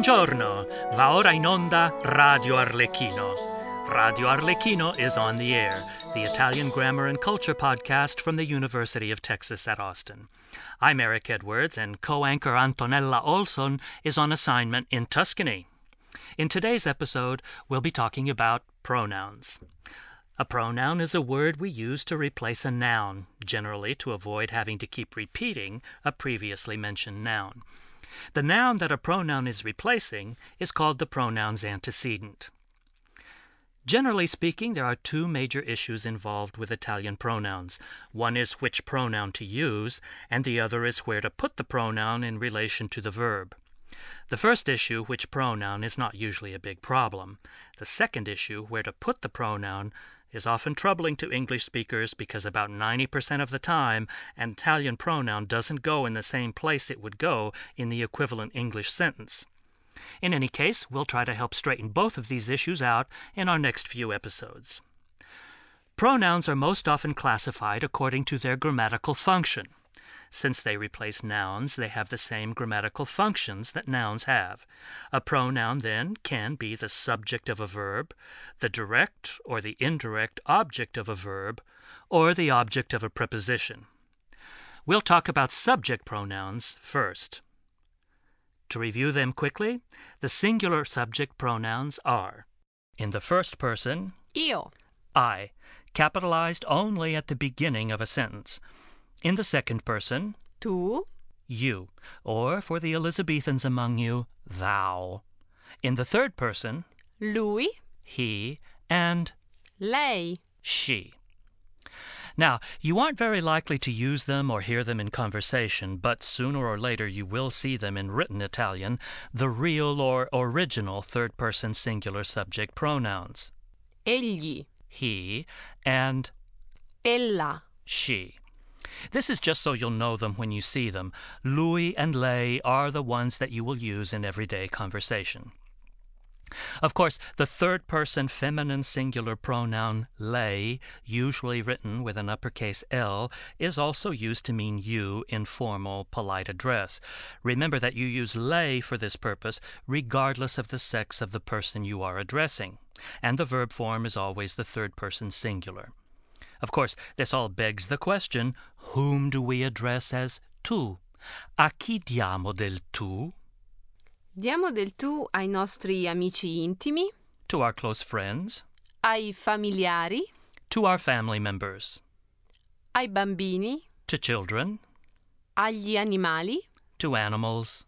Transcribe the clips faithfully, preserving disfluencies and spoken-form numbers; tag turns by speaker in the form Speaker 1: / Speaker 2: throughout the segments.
Speaker 1: Buongiorno, va ora in onda Radio Arlecchino. Radio Arlecchino is on the air, the Italian grammar and culture podcast from the University of Texas at Austin. I'm Eric Edwards, and co-anchor Antonella Olson is on assignment in Tuscany. In today's episode, we'll be talking about pronouns. A pronoun is a word we use to replace a noun, generally to avoid having to keep repeating a previously mentioned noun. The noun that a pronoun is replacing is called the pronoun's antecedent. Generally speaking, there are two major issues involved with Italian pronouns. One is which pronoun to use, and the other is where to put the pronoun in relation to the verb. The first issue, which pronoun, is not usually a big problem. The second issue, where to put the pronoun, is often troubling to English speakers because about ninety percent of the time an Italian pronoun doesn't go in the same place it would go in the equivalent English sentence. In any case, we'll try to help straighten both of these issues out in our next few episodes. Pronouns are most often classified according to their grammatical function. Since they replace nouns, they have the same grammatical functions that nouns have. A pronoun, then, can be the subject of a verb, the direct or the indirect object of a verb, or the object of a preposition. We'll talk about subject pronouns first. To review them quickly, the singular subject pronouns are, in the first person,
Speaker 2: Io,
Speaker 1: I, capitalized only at the beginning of a sentence. In the second person,
Speaker 2: tu,
Speaker 1: you, or for the Elizabethans among you, thou. In the third person,
Speaker 2: lui,
Speaker 1: he, and
Speaker 2: lei.
Speaker 1: she. Now, you aren't very likely to use them or hear them in conversation, but sooner or later you will see them in written Italian, the real or original third-person singular subject pronouns.
Speaker 2: Egli,
Speaker 1: He and
Speaker 2: ella.
Speaker 1: she. This is just so you'll know them when you see them. Lui and lei are the ones that you will use in everyday conversation. Of course, the third-person feminine singular pronoun lei, usually written with an uppercase L, is also used to mean you in formal, polite address. Remember that you use lei for this purpose regardless of the sex of the person you are addressing, and the verb form is always the third-person singular. Of course, this all begs the question, whom do we address as tu? A chi diamo del tu?
Speaker 2: Diamo del tu ai nostri amici intimi,
Speaker 1: To our close friends,
Speaker 2: ai familiari,
Speaker 1: to our family members,
Speaker 2: ai bambini,
Speaker 1: to children,
Speaker 2: agli animali
Speaker 1: to animals,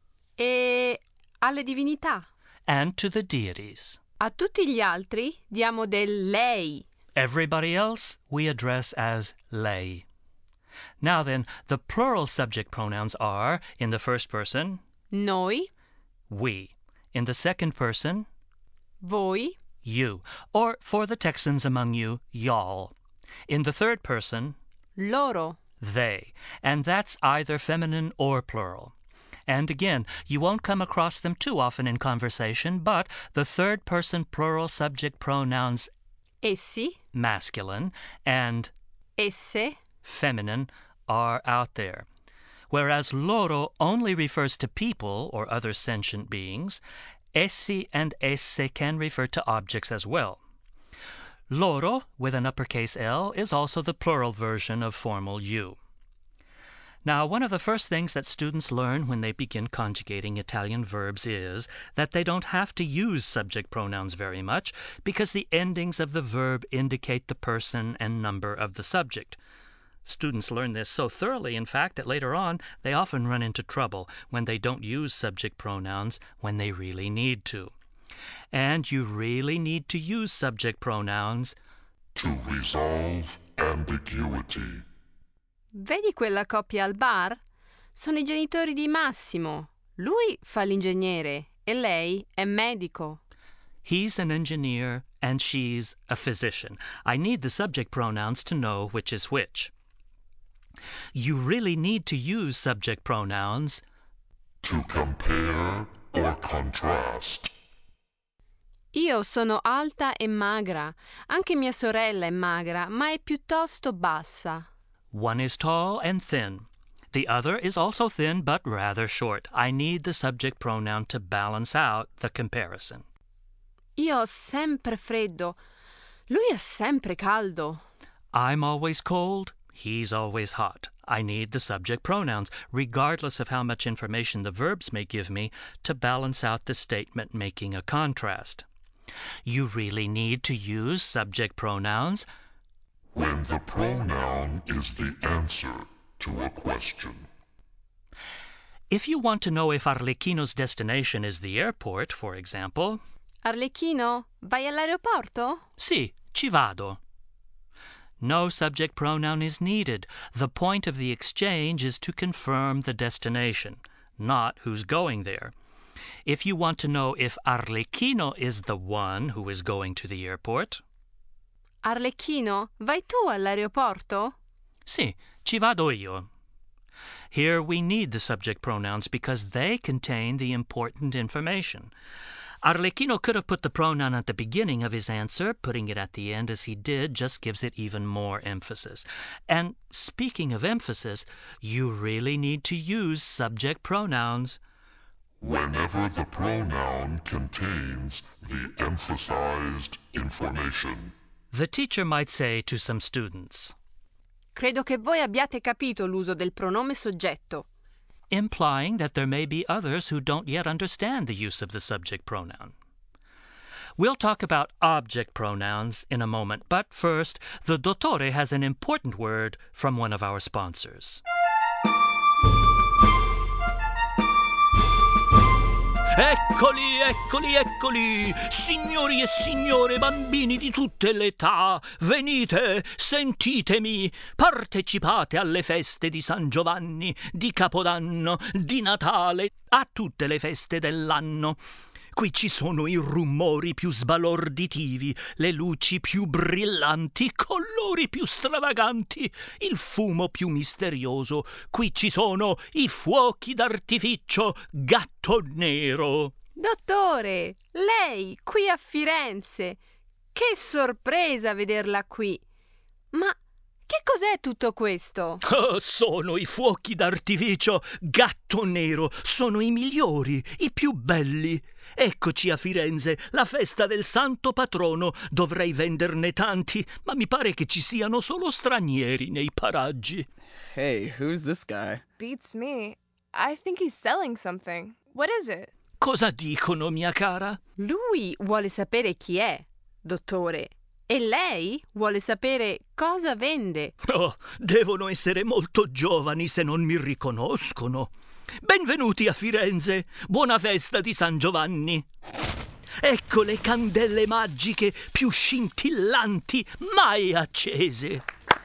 Speaker 2: e alle divinità.
Speaker 1: and to the deities.
Speaker 2: A tutti gli altri diamo del lei.
Speaker 1: Everybody else we address as lei. Now then, the plural subject pronouns are, in the first person,
Speaker 2: Noi,
Speaker 1: we. In the second person,
Speaker 2: voi,
Speaker 1: you. Or, for the Texans among you, y'all. In the third person,
Speaker 2: loro.
Speaker 1: they. And that's either feminine or plural. And again, you won't come across them too often in conversation, but the third-person plural subject pronouns
Speaker 2: Essi,
Speaker 1: masculine and
Speaker 2: esse,
Speaker 1: feminine are out there. Whereas loro only refers to people or other sentient beings, essi and esse can refer to objects as well. Loro, with an uppercase L, is also the plural version of formal you. Now, one of the first things that students learn when they begin conjugating Italian verbs is that they don't have to use subject pronouns very much because the endings of the verb indicate the person and number of the subject. Students learn this so thoroughly, in fact, that later on they often run into trouble when they don't use subject pronouns when they really need to. And you really need to use subject pronouns
Speaker 3: to resolve ambiguity.
Speaker 2: Vedi quella coppia al bar? Sono i genitori di Massimo. Lui fa l'ingegnere e lei è medico.
Speaker 1: He's an engineer and she's a physician. I need the subject pronouns to know which is which. You really need to use subject pronouns
Speaker 3: to compare or contrast.
Speaker 2: Io sono alta e magra. Anche mia sorella è magra, ma è piuttosto bassa.
Speaker 1: One is tall and thin. The other is also thin but rather short. I need the subject pronoun to balance out the comparison.
Speaker 2: Io ho sempre freddo. Lui è sempre caldo.
Speaker 1: I'm always cold. He's always hot. I need the subject pronouns, regardless of how much information the verbs may give me, to balance out the statement making a contrast. You really need to use subject pronouns
Speaker 3: when the pronoun is the answer to a question.
Speaker 1: If you want to know if Arlecchino's destination is the airport, for example...
Speaker 2: Arlecchino, vai all'aeroporto?
Speaker 1: Sì, ci vado. No subject pronoun is needed. The point of the exchange is to confirm the destination, not who's going there. If you want to know if Arlecchino is the one who is going to the airport...
Speaker 2: Arlecchino, vai tu all'aeroporto?
Speaker 1: Sì, ci vado io. Here we need the subject pronouns because they contain the important information. Arlecchino could have put the pronoun at the beginning of his answer. Putting it at the end as he did just gives it even more emphasis. And speaking of emphasis, you really need to use subject pronouns
Speaker 3: whenever the pronoun contains the emphasized information.
Speaker 1: The teacher might say to some students,
Speaker 2: Credo che voi abbiate capito l'uso del pronome soggetto.
Speaker 1: Implying that there may be others who don't yet understand the use of the subject pronoun. We'll talk about object pronouns in a moment, but first, the dottore has an important word from one of our sponsors. Eccoli, eccoli, eccoli, signori e signore, bambini di tutte le età, venite, sentitemi, partecipate alle feste di San Giovanni, di Capodanno, di Natale, a tutte le feste dell'anno. Qui ci sono i rumori più sbalorditivi, le luci più brillanti, i colori più stravaganti, il fumo più misterioso. Qui ci sono i fuochi d'artificio Gatto Nero.
Speaker 2: Dottore, lei qui a Firenze. Che sorpresa vederla qui. Ma che cos'è tutto questo?
Speaker 1: Oh, sono i fuochi d'artificio Gatto Nero. Sono i migliori, i più belli. Eccoci a Firenze, la festa del santo patrono. Dovrei venderne tanti, ma mi pare che ci siano solo stranieri nei paraggi.
Speaker 4: Hey, who's this guy?
Speaker 5: Beats me. I think he's selling something. What is it?
Speaker 1: Cosa dicono, mia cara?
Speaker 2: Lui vuole sapere chi è, dottore. E lei vuole sapere cosa vende.
Speaker 1: Oh, devono essere molto giovani se non mi riconoscono. Benvenuti a Firenze, buona festa di San Giovanni. Ecco le candele magiche più scintillanti mai accese.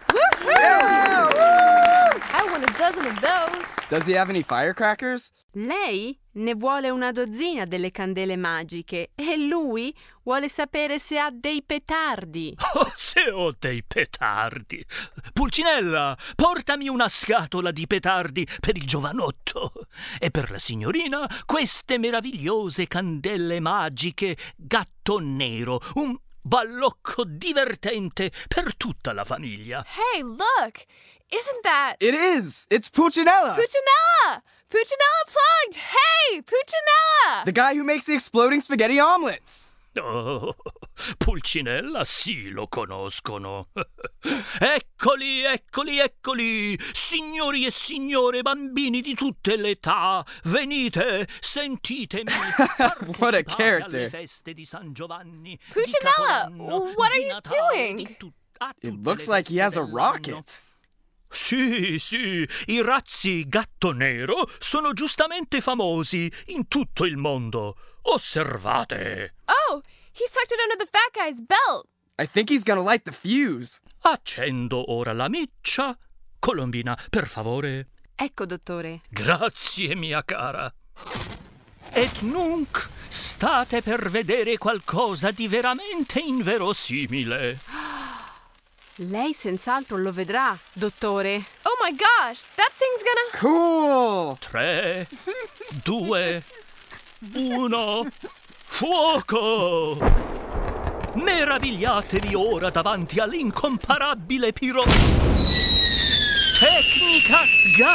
Speaker 5: I want a dozen of those.
Speaker 4: Does he have any firecrackers?
Speaker 2: Lei ne vuole una dozzina delle candele magiche e lui vuole sapere se ha dei petardi.
Speaker 1: Oh, se ho dei petardi! Pulcinella, portami una scatola di petardi per il giovanotto e per la signorina queste meravigliose candele magiche Gatto Nero, un ballocco divertente per tutta la famiglia.
Speaker 5: Hey, look! Isn't that...
Speaker 4: It is! It's Pulcinella!
Speaker 5: Pulcinella! Pulcinella plugged! Hey, Pulcinella!
Speaker 4: The guy who makes the exploding spaghetti omelets!
Speaker 1: Oh, Pulcinella sì, lo conoscono. Eccoli, eccoli, eccoli, signori e signore, bambini di tutte le età, venite, sentitemi.
Speaker 4: What a character.
Speaker 1: Alle feste di San Giovanni.
Speaker 5: Pulcinella, what are you doing?
Speaker 4: It looks like he has a rocket.
Speaker 1: Sì, sì, i razzi Gatto Nero sono giustamente famosi in tutto il mondo. Osservate.
Speaker 5: Oh, he's tucked it under the fat guy's belt.
Speaker 4: I think he's gonna light the fuse.
Speaker 1: Accendo ora la miccia. Colombina, per favore.
Speaker 2: Ecco, dottore.
Speaker 1: Grazie, mia cara. Et nunc state per vedere qualcosa di veramente inverosimile.
Speaker 2: Lei senz'altro lo vedrà, dottore.
Speaker 5: Oh my gosh, that thing's gonna...
Speaker 4: Cool!
Speaker 1: Tre, due, uno, fuoco! Meravigliatevi ora davanti all'incomparabile piro... Tecnica Gatto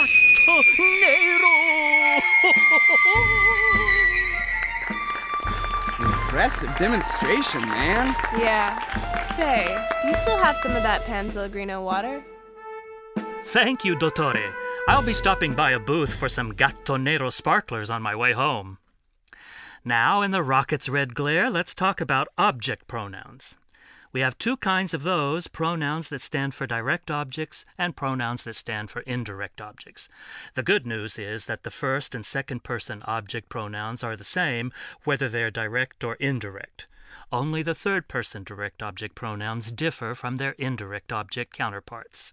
Speaker 4: Impressive demonstration, man.
Speaker 5: Yeah. Say, do you still have some of that Pan Pellegrino water?
Speaker 1: Thank you, Dottore. I'll be stopping by a booth for some Gatto Nero sparklers on my way home. Now, in the rocket's red glare, let's talk about object pronouns. We have two kinds of those, pronouns that stand for direct objects and pronouns that stand for indirect objects. The good news is that the first and second person object pronouns are the same, whether they're direct or indirect. Only the third person direct object pronouns differ from their indirect object counterparts.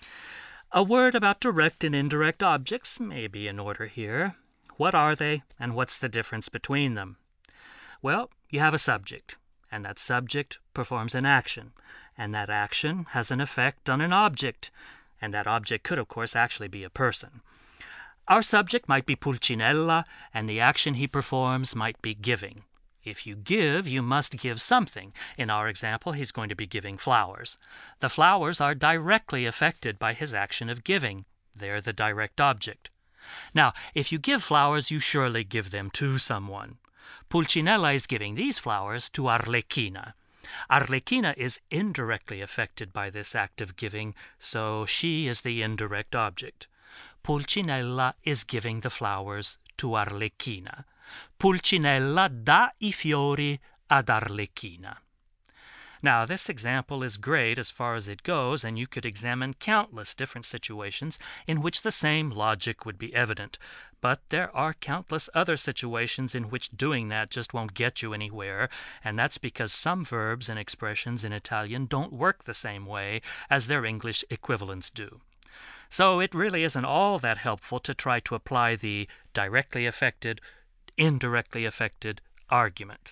Speaker 1: A word about direct and indirect objects may be in order here. What are they, and what's the difference between them? Well, you have a subject, and that subject performs an action, and that action has an effect on an object, and that object could, of course, actually be a person. Our subject might be Pulcinella, and the action he performs might be giving. If you give, you must give something. In our example, he's going to be giving flowers. The flowers are directly affected by his action of giving. They're the direct object. Now, if you give flowers, you surely give them to someone. Pulcinella is giving these flowers to Arlecchina. Arlecchina is indirectly affected by this act of giving, so she is the indirect object. Pulcinella is giving the flowers to Arlecchina. Pulcinella dà I fiori ad Arlecchina. Now, this example is great as far as it goes, and you could examine countless different situations in which the same logic would be evident. But there are countless other situations in which doing that just won't get you anywhere, and that's because some verbs and expressions in Italian don't work the same way as their English equivalents do. So it really isn't all that helpful to try to apply the directly affected, indirectly affected argument.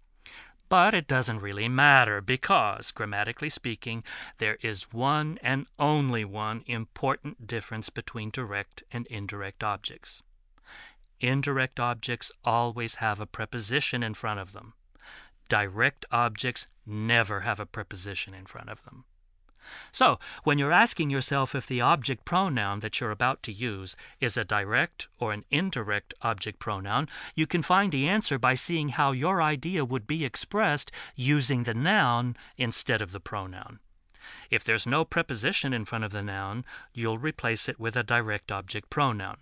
Speaker 1: But it doesn't really matter because, grammatically speaking, there is one and only one important difference between direct and indirect objects. Indirect objects always have a preposition in front of them. Direct objects never have a preposition in front of them. So, when you're asking yourself if the object pronoun that you're about to use is a direct or an indirect object pronoun, you can find the answer by seeing how your idea would be expressed using the noun instead of the pronoun. If there's no preposition in front of the noun, you'll replace it with a direct object pronoun.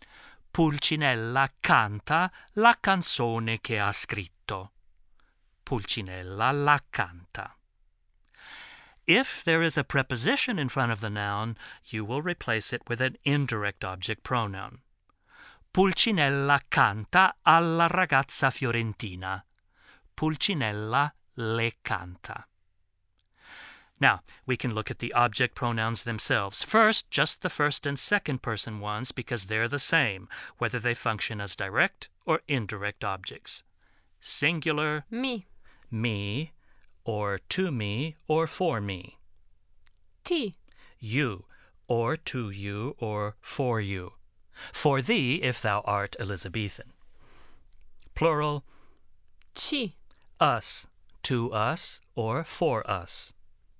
Speaker 1: Pulcinella canta la canzone che ha scritto. Pulcinella la canta. If there is a preposition in front of the noun, you will replace it with an indirect object pronoun. Pulcinella canta alla ragazza fiorentina. Pulcinella le canta. Now, we can look at the object pronouns themselves. First, just the first and second person ones because they're the same, whether they function as direct or indirect objects. Singular,
Speaker 2: Mi.
Speaker 1: me, or to me, or for me.
Speaker 2: Ti.
Speaker 1: You, or to you, or for you. For thee, if thou art Elizabethan. Plural,
Speaker 2: Ci.
Speaker 1: us, to us, or for us.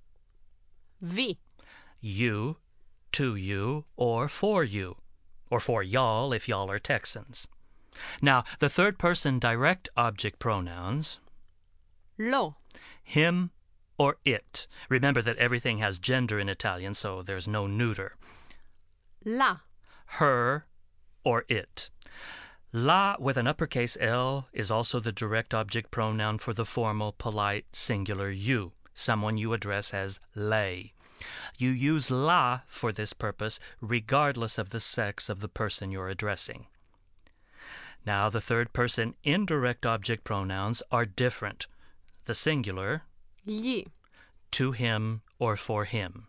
Speaker 2: Vi.
Speaker 1: You, to you, or for you. Or for y'all, if y'all are Texans. Now, the third person direct object pronouns,
Speaker 2: Lo.
Speaker 1: him or it. Remember that everything has gender in Italian, so there's no neuter.
Speaker 2: La.
Speaker 1: Her or it. La with an uppercase L is also the direct object pronoun for the formal, polite, singular you, someone you address as lei. You use la for this purpose regardless of the sex of the person you're addressing. Now, the third person indirect object pronouns are different. The singular,
Speaker 2: Gli.
Speaker 1: to him or for him.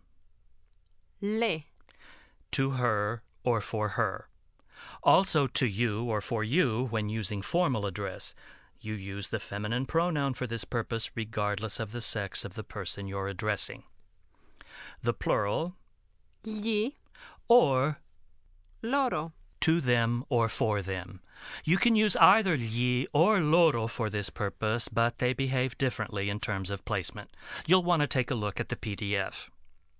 Speaker 2: Le.
Speaker 1: To her or for her. Also to you or for you when using formal address. You use the feminine pronoun for this purpose regardless of the sex of the person you're addressing. The plural,
Speaker 2: Gli.
Speaker 1: or
Speaker 2: Loro.
Speaker 1: to them or for them. You can use either gli or loro for this purpose, but they behave differently in terms of placement. You'll want to take a look at the P D F.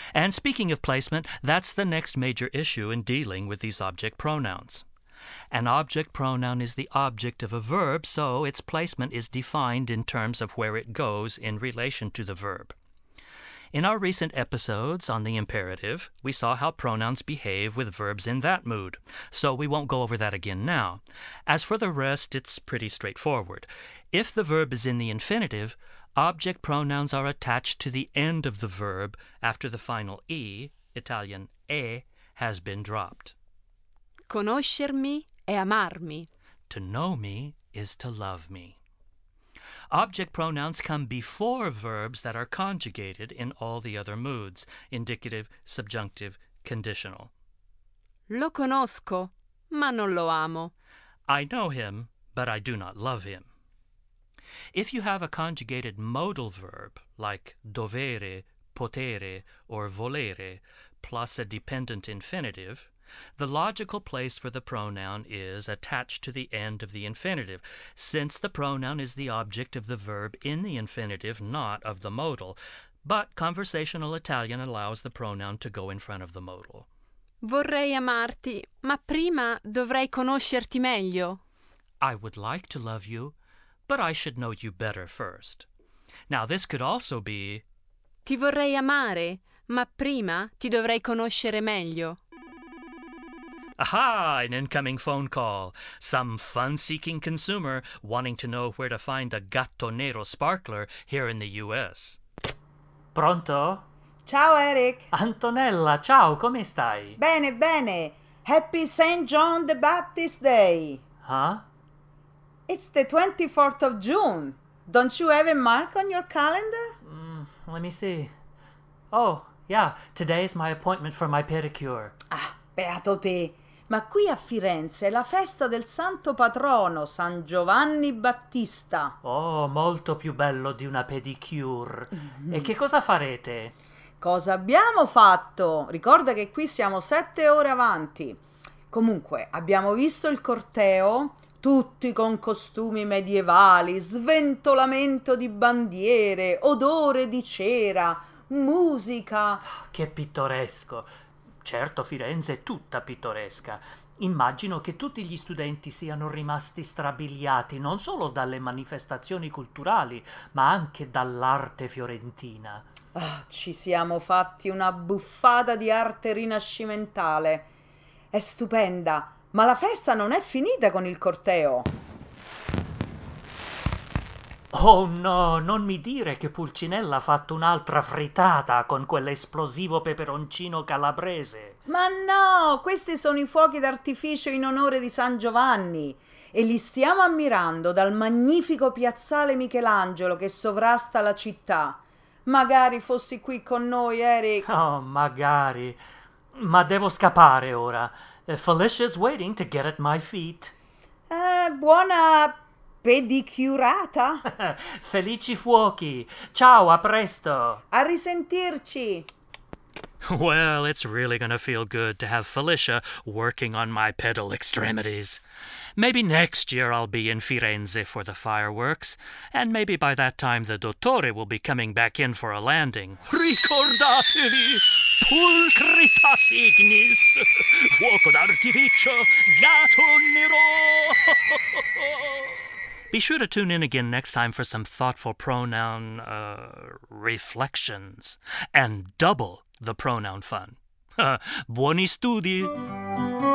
Speaker 1: And speaking of placement, that's the next major issue in dealing with these object pronouns. An object pronoun is the object of a verb, so its placement is defined in terms of where it goes in relation to the verb. In our recent episodes on the imperative, we saw how pronouns behave with verbs in that mood, so we won't go over that again now. As for the rest, it's pretty straightforward. If the verb is in the infinitive, object pronouns are attached to the end of the verb after the final e, Italian e, has been dropped.
Speaker 2: Conoscermi è amarmi.
Speaker 1: To know me is to love me. Object pronouns come before verbs that are conjugated in all the other moods, indicative, subjunctive, conditional.
Speaker 2: Lo conosco, ma non lo amo.
Speaker 1: I know him, but I do not love him. If you have a conjugated modal verb, like dovere, potere, or volere, plus a dependent infinitive, the logical place for the pronoun is attached to the end of the infinitive, since the pronoun is the object of the verb in the infinitive, not of the modal. But conversational Italian allows the pronoun to go in front of the modal.
Speaker 2: Vorrei amarti, ma prima dovrei conoscerti meglio.
Speaker 1: I would like to love you, but I should know you better first. Now this could also be
Speaker 2: Ti vorrei amare, ma prima ti dovrei conoscere meglio.
Speaker 1: Aha! An incoming phone call. Some fun-seeking consumer wanting to know where to find a Gatto Nero sparkler here in the U S.
Speaker 6: Pronto?
Speaker 7: Ciao Eric.
Speaker 6: Antonella, ciao, come stai?
Speaker 7: Bene, bene. Happy Saint John the Baptist Day.
Speaker 6: Huh?
Speaker 7: It's the twenty-fourth of June. Don't you have a mark on your calendar?
Speaker 6: Mm, let me see. Oh, yeah, today is my appointment for my pedicure.
Speaker 7: Ah, beato te. Ma qui a Firenze è la festa del santo patrono, San Giovanni Battista.
Speaker 6: Oh, molto più bello di una pedicure. Mm-hmm. E che cosa farete?
Speaker 7: Cosa abbiamo fatto? Ricorda che qui siamo sette ore avanti. Comunque, abbiamo visto il corteo, tutti con costumi medievali, sventolamento di bandiere, odore di cera, musica.
Speaker 6: Che pittoresco. Certo, Firenze è tutta pittoresca. Immagino che tutti gli studenti siano rimasti strabiliati non solo dalle manifestazioni culturali, ma anche dall'arte fiorentina.
Speaker 7: Oh, ci siamo fatti una buffata di arte rinascimentale. È stupenda, ma la festa non è finita con il corteo.
Speaker 6: Oh no, non mi dire che Pulcinella ha fatto un'altra frittata con quell'esplosivo peperoncino calabrese.
Speaker 7: Ma no, questi sono i fuochi d'artificio in onore di San Giovanni e li stiamo ammirando dal magnifico piazzale Michelangelo che sovrasta la città. Magari fossi qui con noi, Eric.
Speaker 6: Oh, magari. Ma devo scappare ora. Felicia's waiting to get at my feet.
Speaker 7: Eh, buona pedicurata.
Speaker 6: Felici fuochi. Ciao, a presto.
Speaker 7: A risentirci.
Speaker 1: Well, it's really going to feel good to have Felicia working on my pedal extremities. Maybe next year I'll be in Firenze for the fireworks, and maybe by that time the dottore will be coming back in for a landing. Ricordatevi, pulcritas ignis, fuoco d'artificio, gatto nero. Be sure to tune in again next time for some thoughtful pronoun uh, reflections, and double the pronoun fun. Buoni studi!